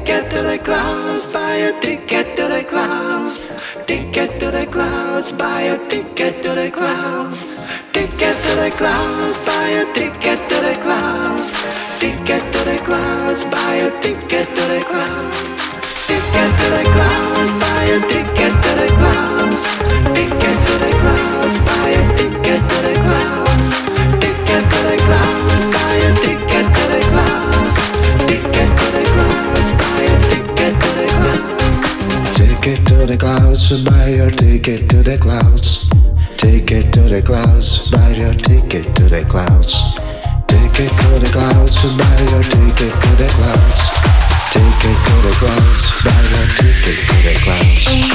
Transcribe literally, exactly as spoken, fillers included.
ticket to the clouds, buy a ticket to the clouds. Ticket to the clouds, buy a ticket to the clouds. Ticket to the clouds, buy a ticket to the clouds. Ticket to the clouds, buy a ticket to the clouds. Ticket to the clouds, buy a ticket to the clouds. Ticket to the clouds, buy a ticket to the clouds. Ticket to the clouds, buy a ticket to the clouds. Ticket to the clouds, buy a ticket to the clouds. Ticket to the clouds, buy your ticket to the clouds. Ticket to the clouds, buy your ticket to the clouds. Ticket to the clouds, buy your ticket to the clouds. Ticket to the clouds, buy your ticket to the clouds.